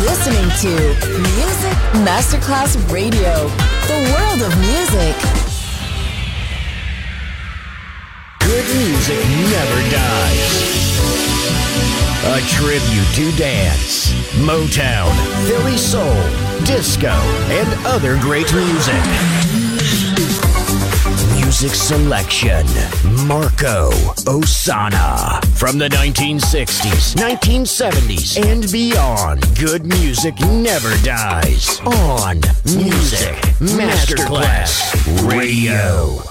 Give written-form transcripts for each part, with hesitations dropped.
listening to Music Masterclass Radio, the world of music. Good music never dies. A tribute to dance, Motown, Philly soul, disco, and other great music. Music selection, Marco Ossanna. From the 1960s, 1970s, and beyond, good music never dies. On Music Masterclass Radio.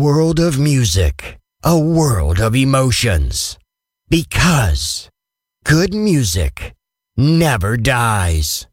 world of music, a world of emotions. Because good music never dies.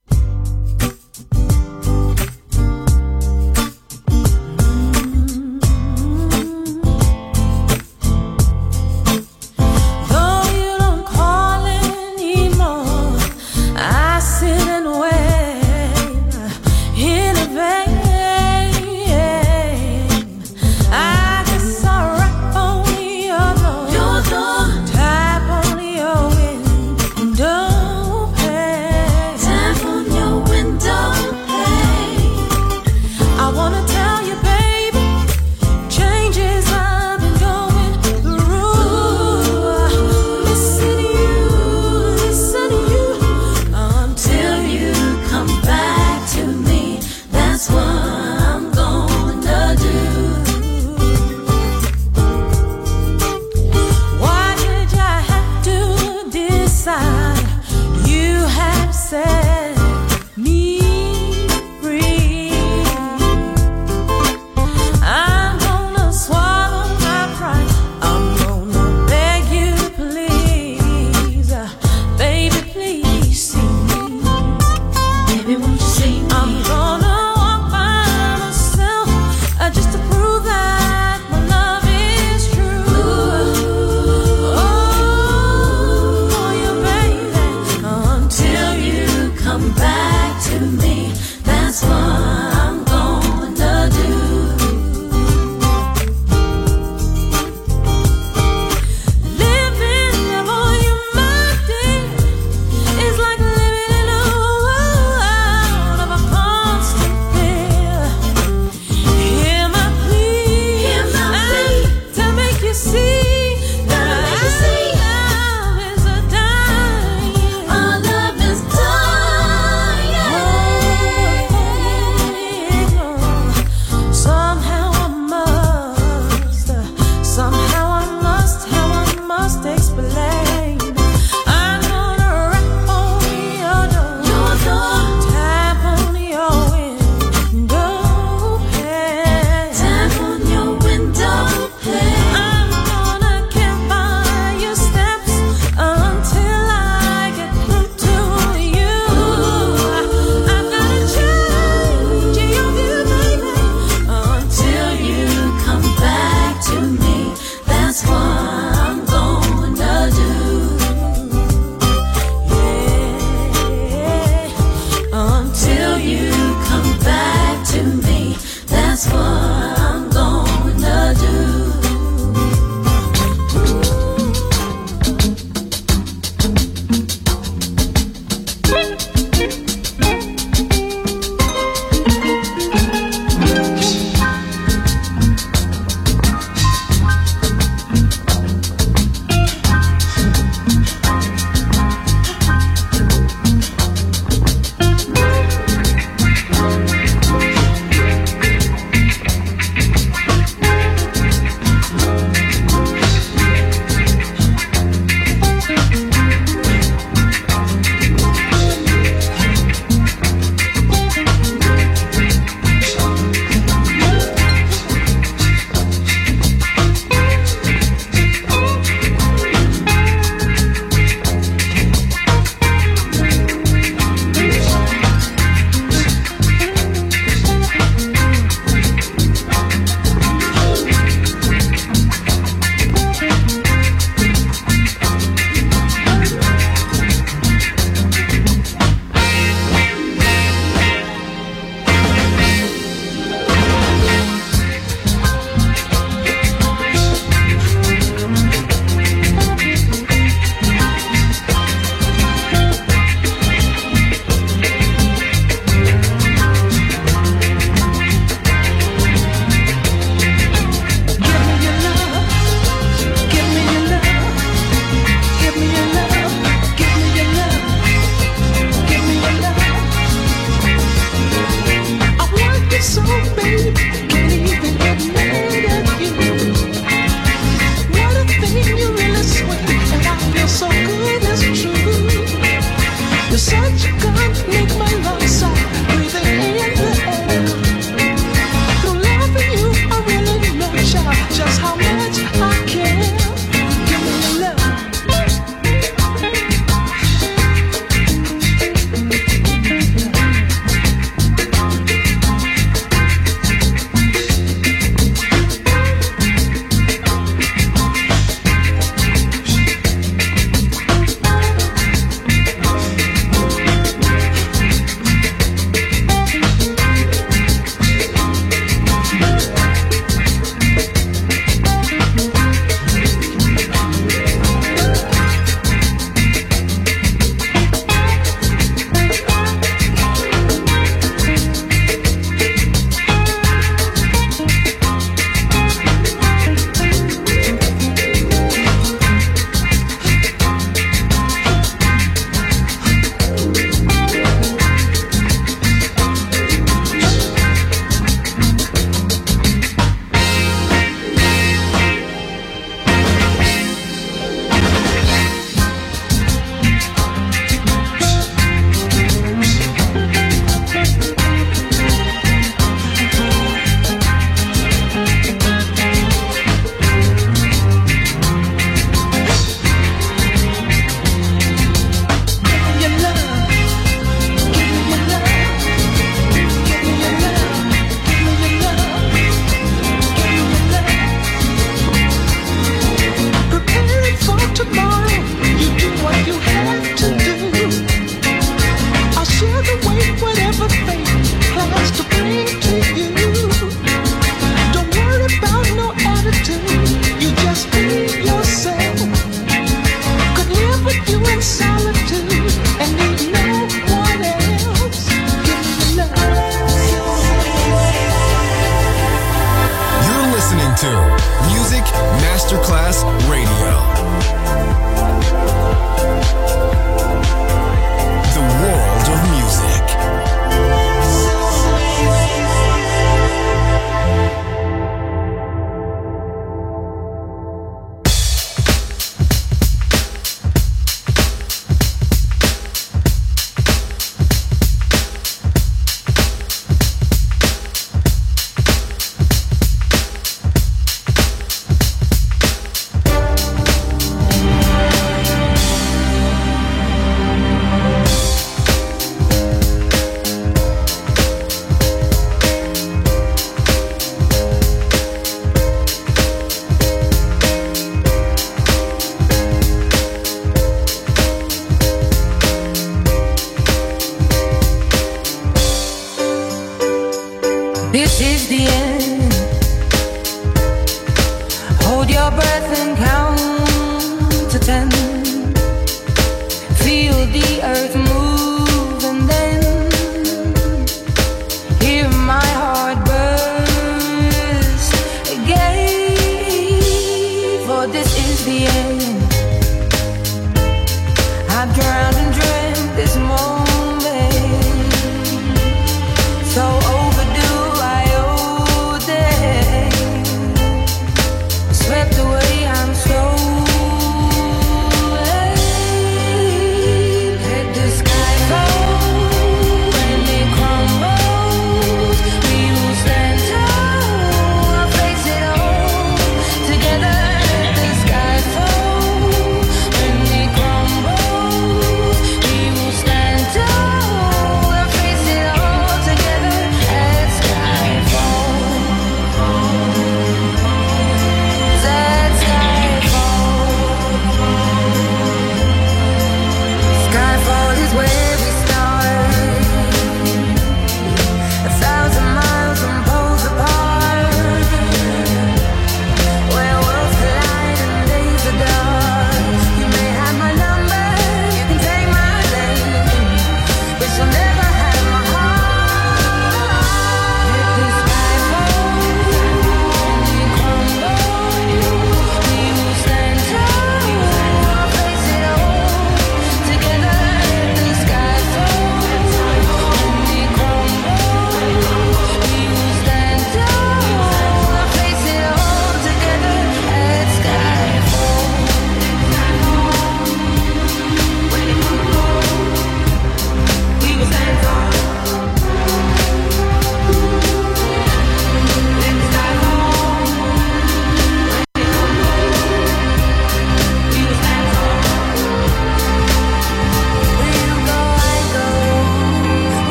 Time for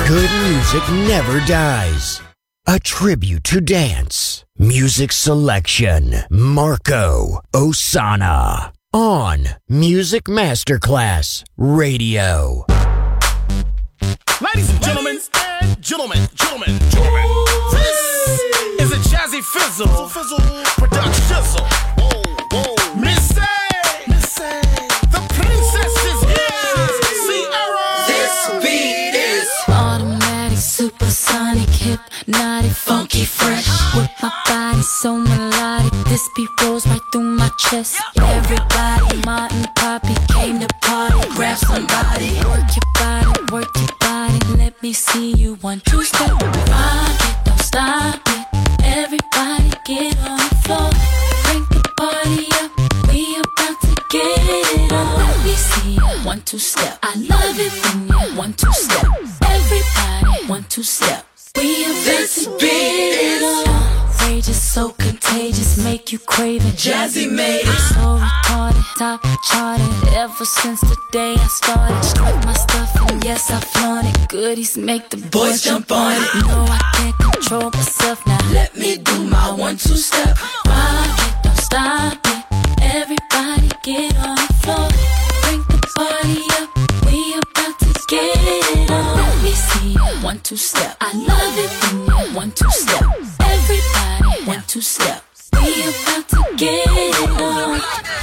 Good music never dies. A tribute to dance. Music selection. Marco Ossanna. On Music Masterclass Radio. Ladies and gentlemen, gentlemen, this is a Jazzy Fizzle production. Missy, the princess is here. Sierra. This beat is automatic, supersonic, hypnotic, funky, fresh. With my body so melodic, this beat rolls right through my chest. Everybody, Martin, Poppy came to party. Grab somebody, work your body, work your body. Let me see you 1, 2 step. Rock it, don't stop it. Everybody get on the floor. Crank the party up. We about to get it on. Let me see you 1, 2 step. I love it when you 1, 2 step. Everybody 1, 2 step. We about to get it on. Outrageous, so contagious, make you crave it. Jazzy made it. So retarded, top charted. Ever since the day I started, strike my stuff and yes I flaunt it. Goodies make the boys jump on it. No, I can't control myself now. Let me do my 1, 2 step. Rock it, don't stop it. Everybody get on the floor. Bring the party up. We about to get it on. Let me see you 1, 2 step. I love it when you 1, 2 step. Everybody 1, 2 step. We about to get it on.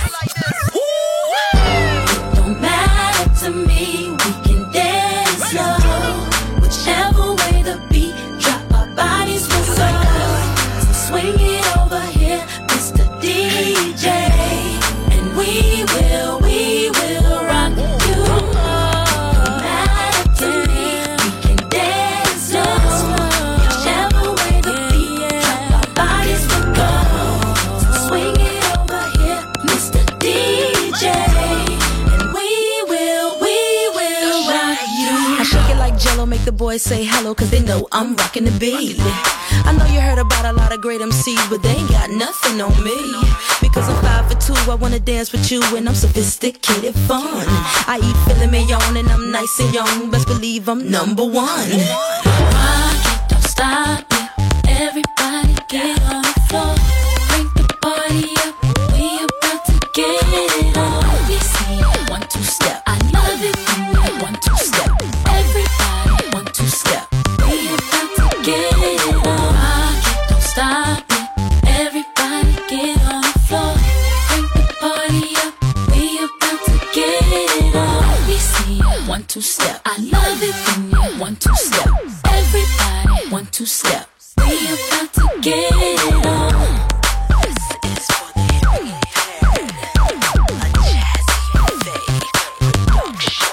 It don't matter to me. We can dance slow. Whichever way the beat drop, our bodies will go. So swing it over here, Mr. DJ, and we will rock you. No matter to me, we can dance slow. Whichever way the beat drop, our bodies will go. So swing it over here, Mr. DJ, and we will rock you. I shake it like Jello, make the boys say hello, cause they know I'm rocking the beat. I know you heard about a lot of great MCs, but they ain't got nothing on me. Because I'm 5 for 2, I wanna dance with you, and I'm sophisticated fun. I eat filet mignon, and I'm nice and young, best believe I'm number 1. Rock it, don't stop it. Everybody get on the floor. Bring the party up. We about to get it on. Let me see you 1, 2 step. I love it when you 1, 2 step. Everybody 1, 2 step. We about to get it on. Rock it, don't stop it. Everybody get on the floor. Bring the party up. We about to get it on. Let me see you 1, 2 step. I love it when you 1, 2 step. Everybody 1, 2 step. We about to get it on. This is for the impaired. A Jazzy Faye production.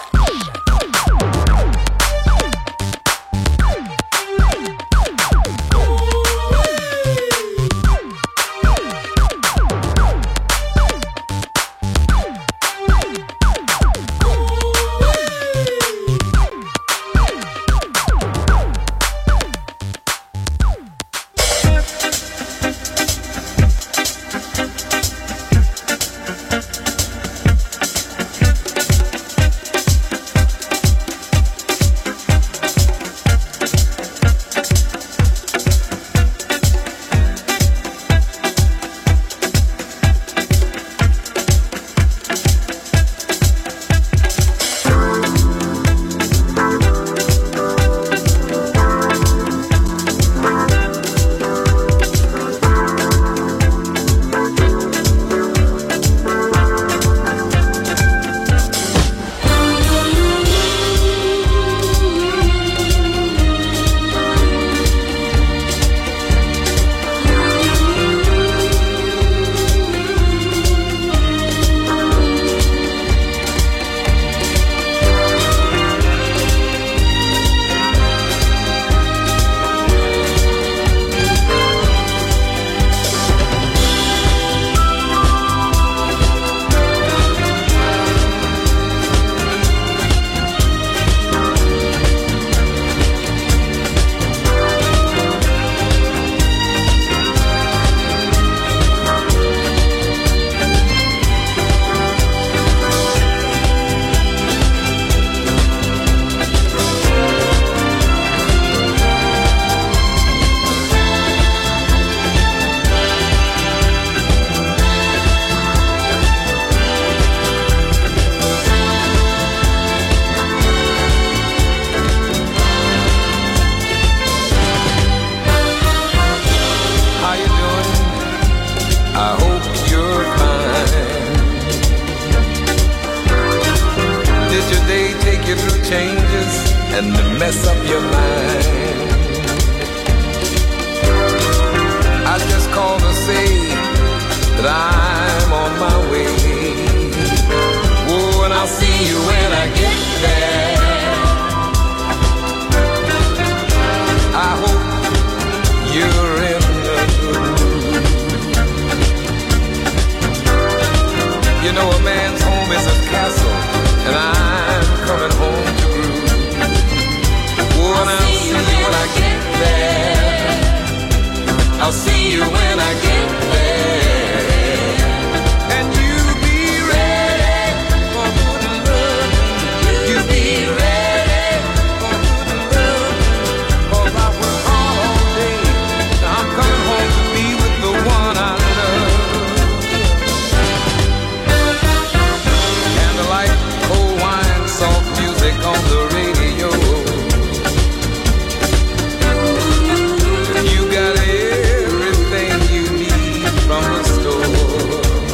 and mess up your mind. I just called to say that I'm on my way. Oh, and I'll see you when I get there. I hope you're in the mood. You know, a man's home is a castle, and I'm coming home to groove. Oh, and I'll see you when I get there. I'll see you when I get there. And you be ready for good love. You be ready for good love. 'Cause I was gone all day. Now I'm coming home to be with the one I love. Candlelight, cold wine, soft music on the radio. You got everything you need from the store.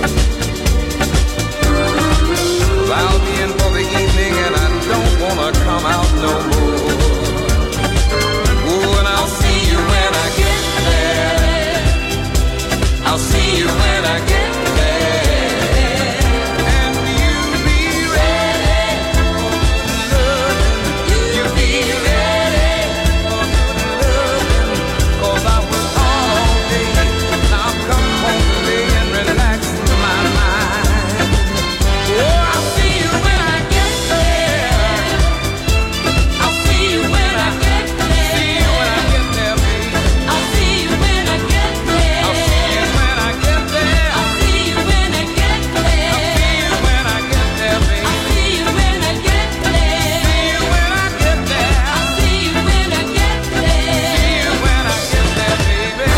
I'll be in for the evening and I don't wanna come out no more. Oh, and I'll see you when I get there. I'll see you when I get there. And you be ready for good loving. You be ready for good loving. 'Cause I was gone all day. Now I'm coming home today and relax my mind. Oh, I'll see you when I get there. I'll see you when I get there. See you when I get there, baby. I'll see you when I get there. I'll see you when I get there. I'll see you when I get there. I'll see you when I get there, baby. I'll see you when I get there. See you when I get there. I'll see you when I get there. See you when I get there, baby.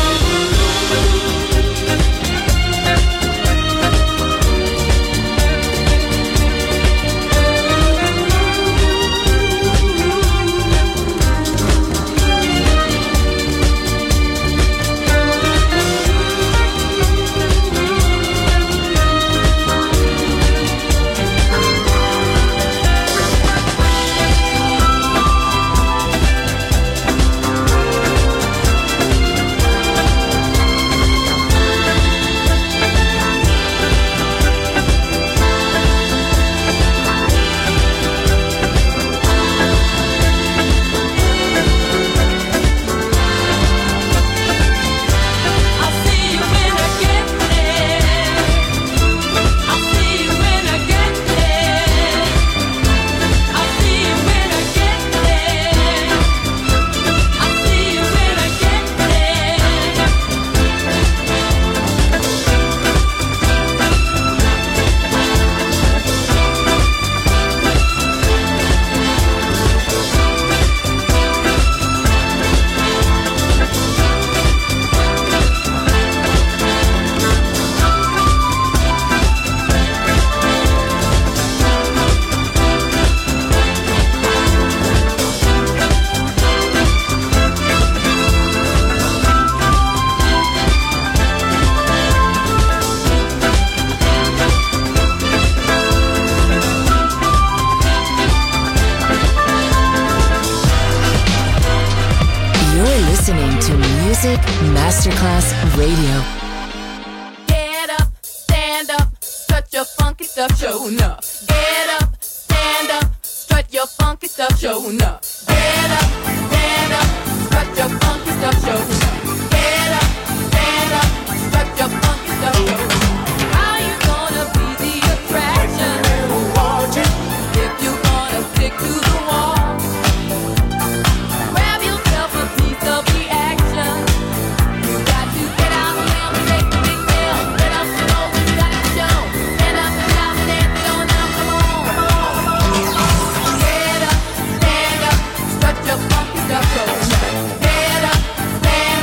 I'll see you when I get there. I'll see you when I get there. I'll see you when I get there. I'll see you when I get there. You're listening to Music Masterclass Radio. Get up, stand up, strut your funky stuff, show enough. Get up, stand up, strut your funky stuff, show enough. Get up, stand up, strut your funky stuff, show enough. Get up, stand up, strut your funky stuff, show enough. How you gonna be the attraction? If you gonna stick to the wall, grab yourself a piece of the action. You got to get out there and make the big deal. Get up and go, you gotta show. Stand up and shout and dance it on now, come on. Get up, stand up, strut your funky stuff, show enough. Get up, stand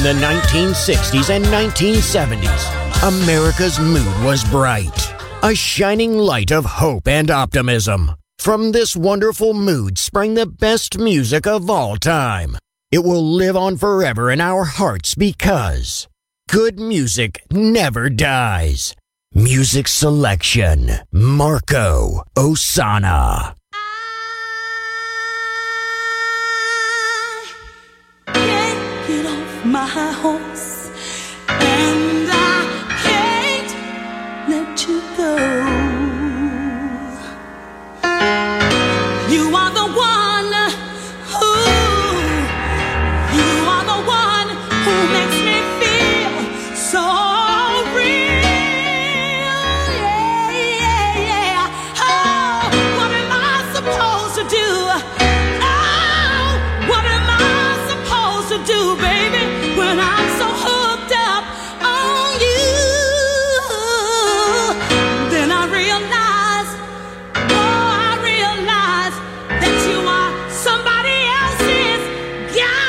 In the 1960s and 1970s, America's mood was bright, a shining light of hope and optimism. From this wonderful mood sprang the best music of all time. It will live on forever in our hearts because good music never dies. Music selection, Marco Ossanna. I can't get off my horse, and I can't let you go. You are the one who makes me feel so real. Yeah. Oh, what am I supposed to do? Oh, what am I supposed to do, baby, when I'm so hooked up on you? Then I realize that you are somebody else's guy.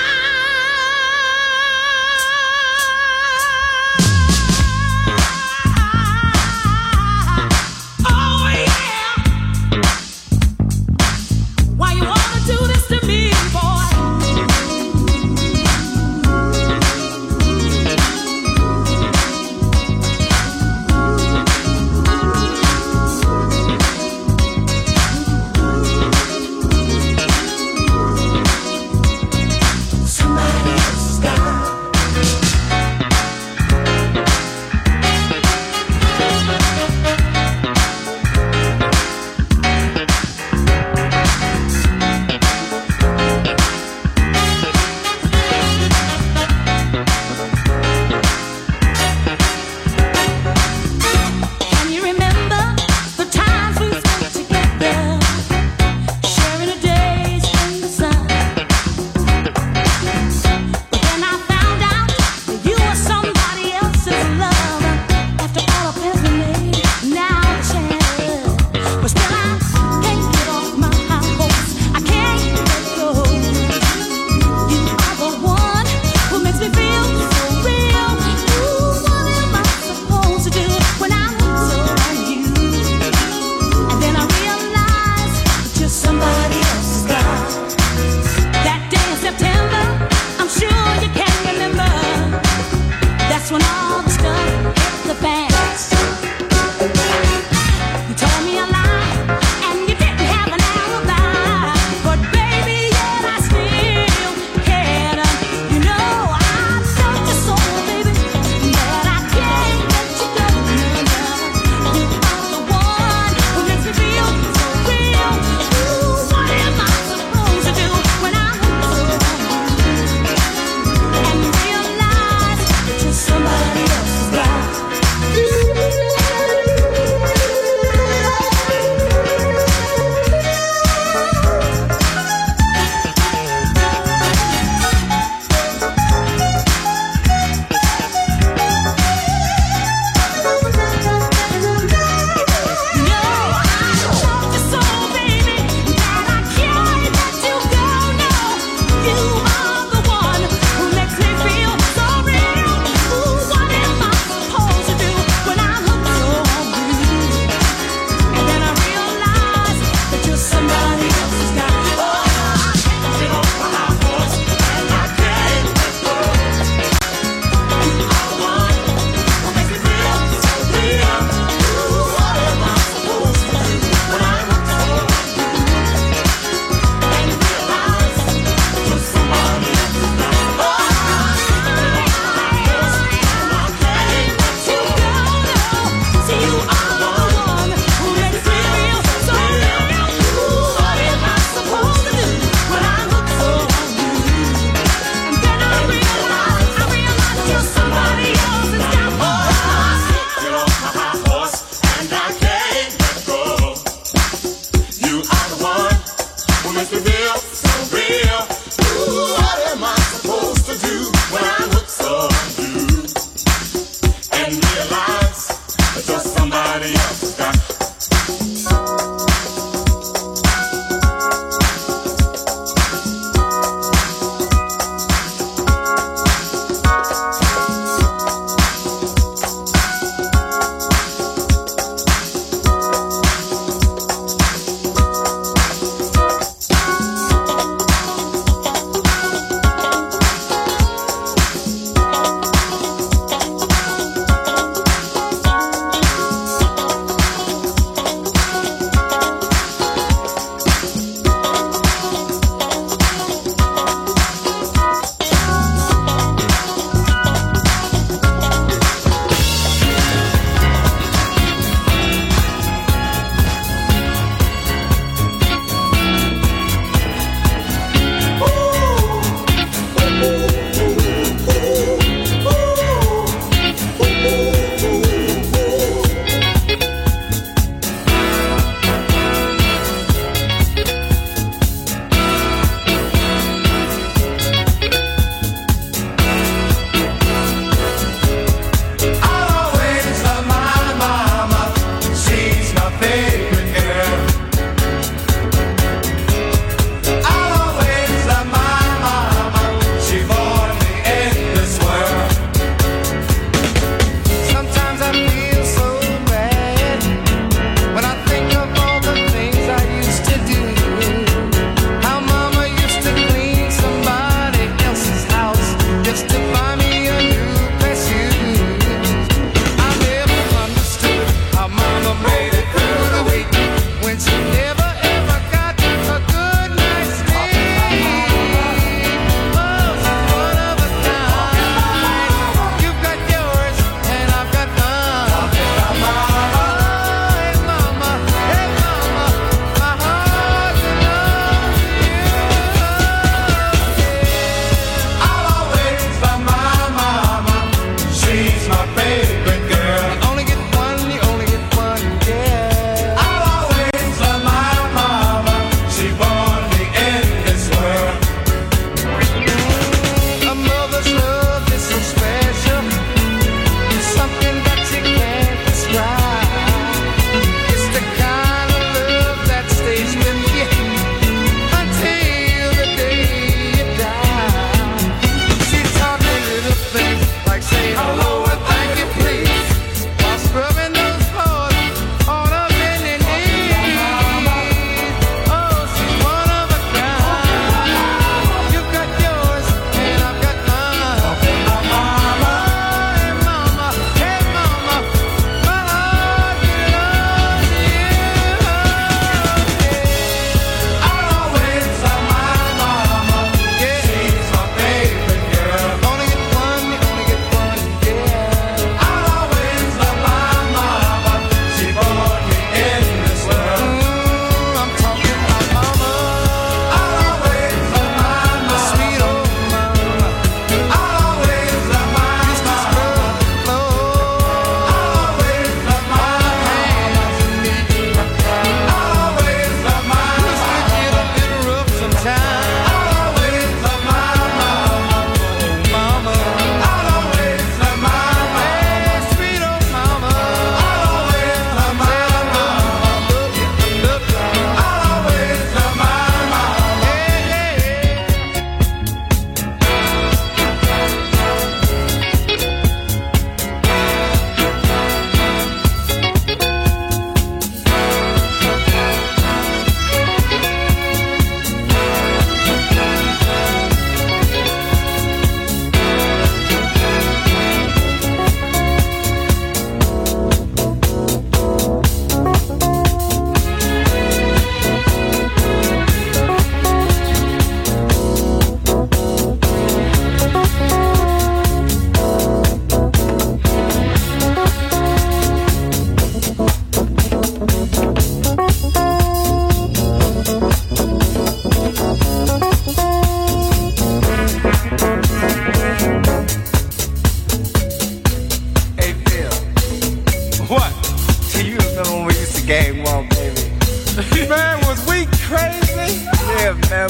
Oh yeah. Why you wanna do this to me, boy?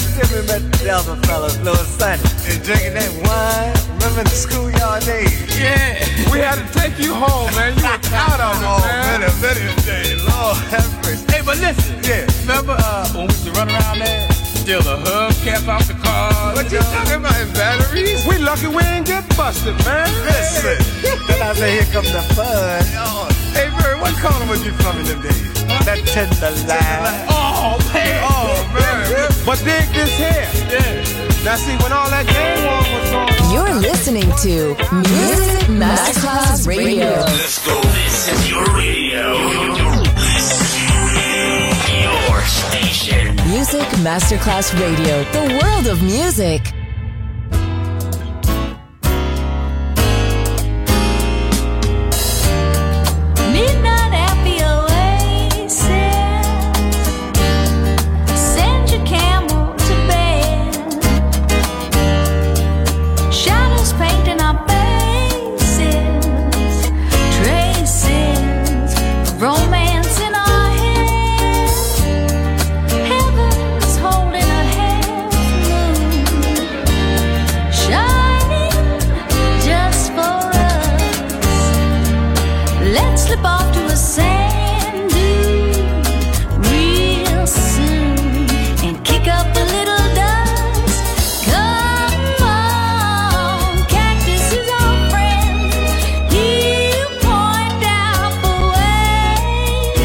Give me met the other fellas, little Sonny. And drinking that wine. Remember the schoolyard days? Yeah, we had to take you home, man. You were out on it, man. Many days. Lord have mercy. Hey, but listen. Yeah. Remember when we used to run around there? Steal the hubcap off the car. What you talking about, in batteries? We lucky we ain't get busted, man. Listen. Then I say, here comes the fun. Hey, Bird, what corner was you from in them days? That tender line. Oh, man. Oh, man. But dig this here. Yeah. Now, see, when all that game war was going on. You're listening to Music Masterclass Radio. Let's go. This is your radio. Your station. Music Masterclass Radio. The world of music. Midnight at the oasis. Send your camel to bed. Shadows painting our faces. Traces of romance in our heads. Heaven's holding a half moon, shining just for us. Let's slip off to a sand dune real soon and kick up a little dust. Come on, cactus is our friend. He'll point out the way.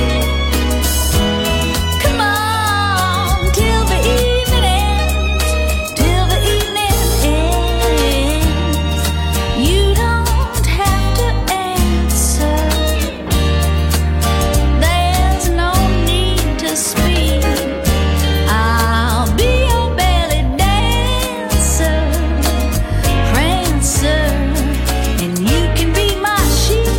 Come on, till the evening ends. Till the evening ends. You don't have to answer. There's no need to speak. I'll be your belly dancer, prancer, and you can be my chic.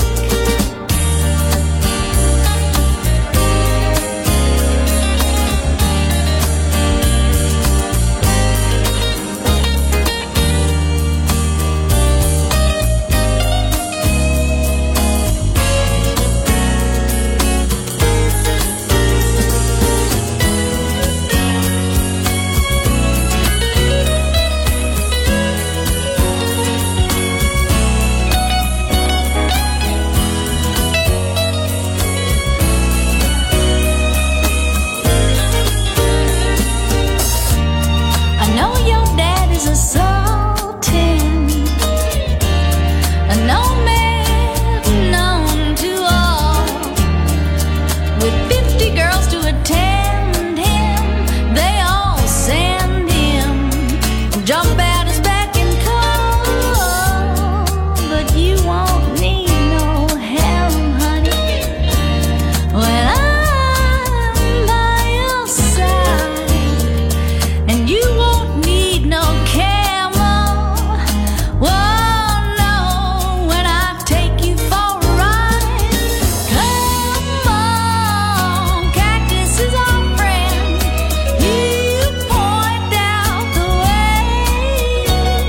I know your dad is a sultan, a nomad known to all, with 50 girls to attend him. They all send him, jump at his beck and call. But you won't need no harem, honey, when I'm by your side. And you won't need no camel. Whoa, no, when I take you for a ride. Come on, cactus is our friend. You point out the way.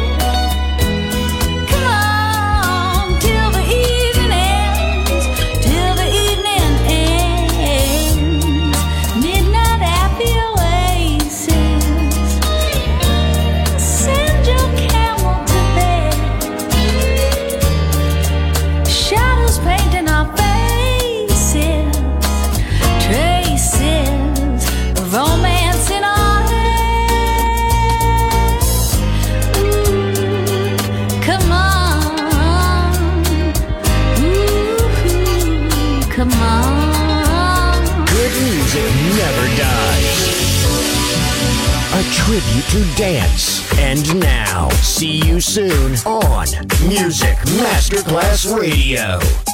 Come on, till the evening ends. Till the evening ends. Midnight at the oasis. Send your camel to bed. Shadows painting our faces. Traces of romance in our heads. Ooh, come on. Ooh, come on. Good music never dies. A tribute to dance. And now, see you soon on Music Masterclass Radio.